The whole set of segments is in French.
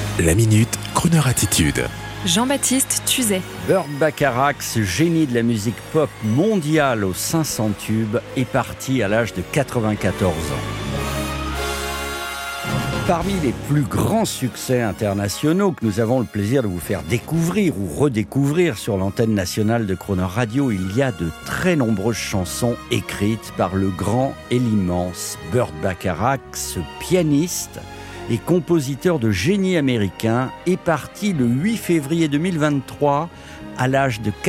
La Minute, Crooner Attitude. Jean-Baptiste Tuzet. Burt Bacharach, ce génie de la musique pop mondiale aux 500 tubes, est parti à l'âge de 94 ans. Parmi les plus grands succès internationaux que nous avons le plaisir de vous faire découvrir ou redécouvrir sur l'antenne nationale de Crooner Radio, il y a de très nombreuses chansons écrites par le grand et l'immense Burt Bacharach, ce pianiste et compositeur de génie américain, est parti le 8 février 2023 à l'âge de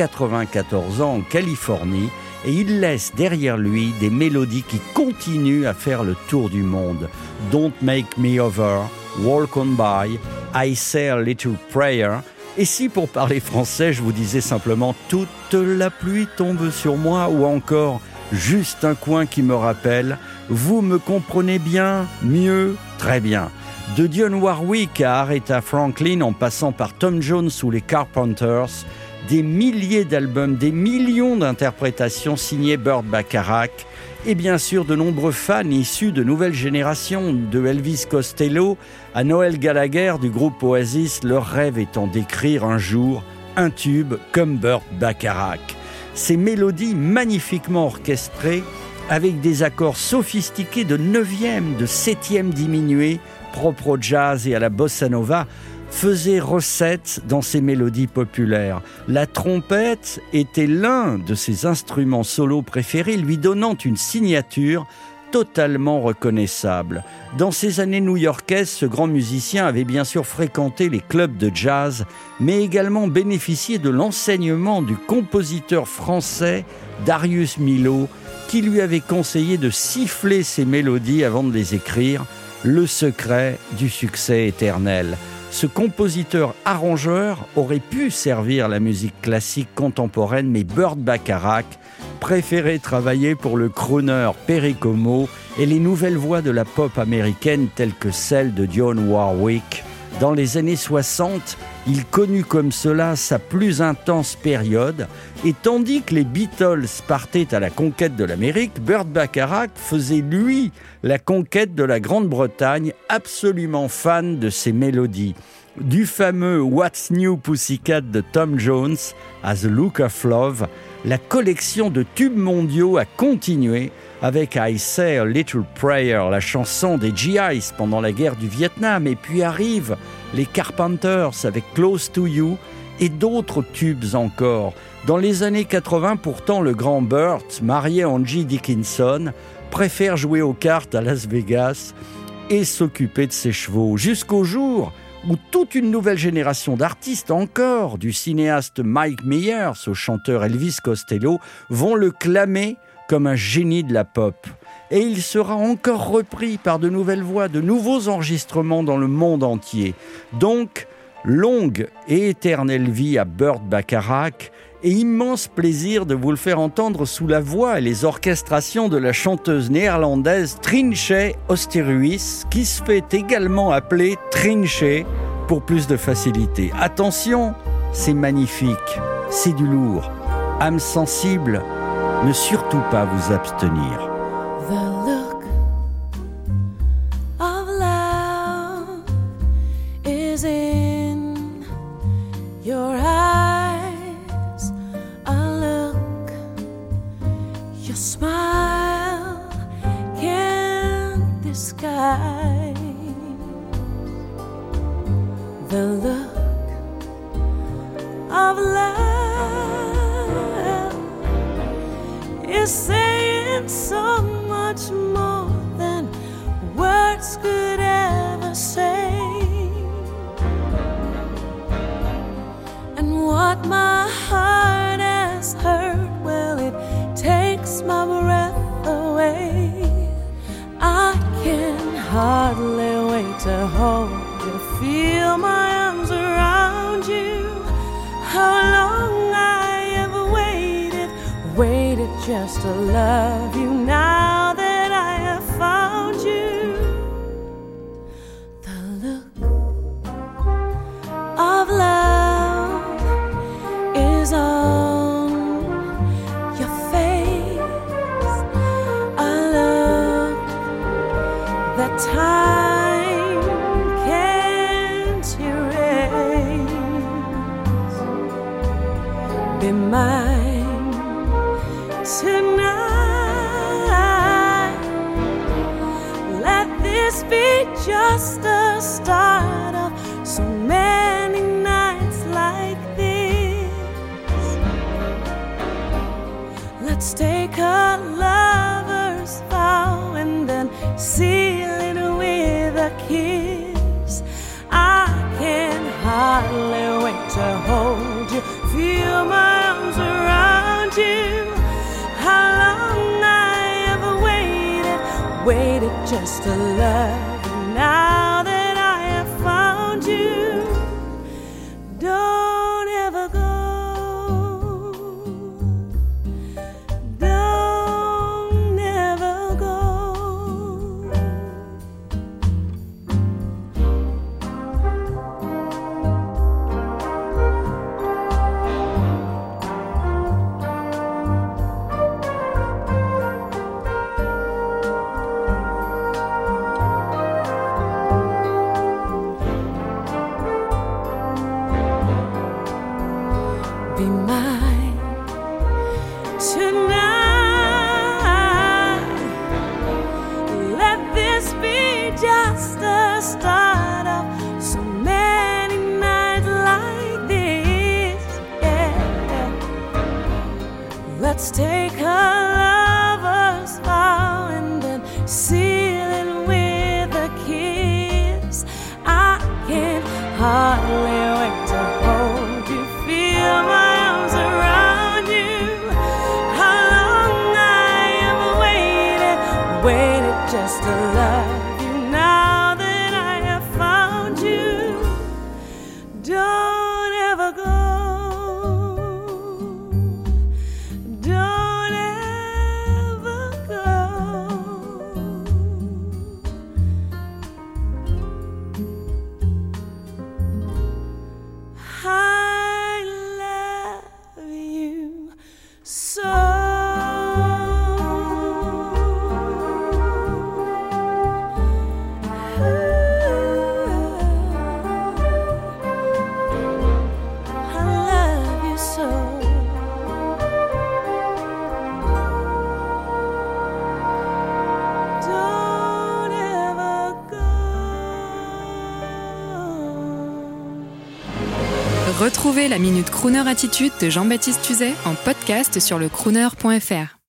94 ans en Californie, et il laisse derrière lui des mélodies qui continuent à faire le tour du monde. Don't Make Me Over, Walk On By, I Say a Little Prayer. Et si pour parler français, je vous disais simplement toute la pluie tombe sur moi, ou encore juste un coin qui me rappelle, vous me comprenez bien, mieux, très bien. De Dionne Warwick à Aretha Franklin, en passant par Tom Jones ou les Carpenters, des milliers d'albums, des millions d'interprétations signées Burt Bacharach, et bien sûr de nombreux fans issus de nouvelles générations, de Elvis Costello à Noel Gallagher du groupe Oasis, leur rêve étant d'écrire un jour un tube comme Burt Bacharach. Ces mélodies magnifiquement orchestrées, avec des accords sophistiqués de 9e, de 7e diminués, propres au jazz et à la bossa nova, faisait recette dans ses mélodies populaires. La trompette était l'un de ses instruments solos préférés, lui donnant une signature totalement reconnaissable. Dans ses années new-yorkaises, ce grand musicien avait bien sûr fréquenté les clubs de jazz, mais également bénéficié de l'enseignement du compositeur français Darius Milhaud, qui lui avait conseillé de siffler ses mélodies avant de les écrire, le secret du succès éternel. Ce compositeur-arrangeur aurait pu servir la musique classique contemporaine, mais Burt Bacharach préférait travailler pour le crooner Perry Como et les nouvelles voix de la pop américaine telles que celle de Dionne Warwick. Dans les années 60, il connut comme cela sa plus intense période, et tandis que les Beatles partaient à la conquête de l'Amérique, Burt Bacharach faisait, lui, la conquête de la Grande-Bretagne, absolument fan de ses mélodies. Du fameux What's New Pussycat de Tom Jones à The Look of Love, la collection de tubes mondiaux a continué avec I Say a Little Prayer, la chanson des GIs pendant la guerre du Vietnam, et puis arrivent les Carpenters avec Close to You et d'autres tubes encore. Dans les années 80, pourtant, le grand Burt, marié à Angie Dickinson, préfère jouer aux cartes à Las Vegas et s'occuper de ses chevaux, jusqu'au jour où toute une nouvelle génération d'artistes, encore du cinéaste Mike Myers au chanteur Elvis Costello, vont le clamer comme un génie de la pop. Et il sera encore repris par de nouvelles voix, de nouveaux enregistrements dans le monde entier. Donc, longue et éternelle vie à Burt Bacharach, et immense plaisir de vous le faire entendre sous la voix et les orchestrations de la chanteuse néerlandaise Trintje Oosterhuis, qui se fait également appeler Trintje pour plus de facilité. Attention, c'est magnifique, c'est du lourd. Âme sensible, ne surtout pas vous abstenir. The look of love is in your eyes. A look your smile can't disguise. The look of love is saying so much more than words could ever say. And what my heart has heard, well, it takes my breath away. I can hardly wait to hold you, feel my arms around you. How long I have waited just to love you, now that I have found you. The look of love is on your face. A look that time can't erase. be mine tonight. Let this be just the start of so many nights like this. Let's take a lover's vow and then seal it with a kiss. I can hardly wait to hold you, feel my arms around you. How long I ever waited just to love you. Now that I have found you, don't ever go. Don't ever go. Be mine tonight. Let this be just the start of so many nights like this. Yeah. Let's take a lover's vow and then seal it with a kiss. I can hardly wait to hold you, feel my arms around you. How long I ever waited just to love you. Now that I have found you, don't ever go. Don't ever go. I love you so. I love you so. Don't ever go. Retrouvez la Minute Crooner Attitude de Jean-Baptiste Tuzet en podcast sur lecrooner.fr.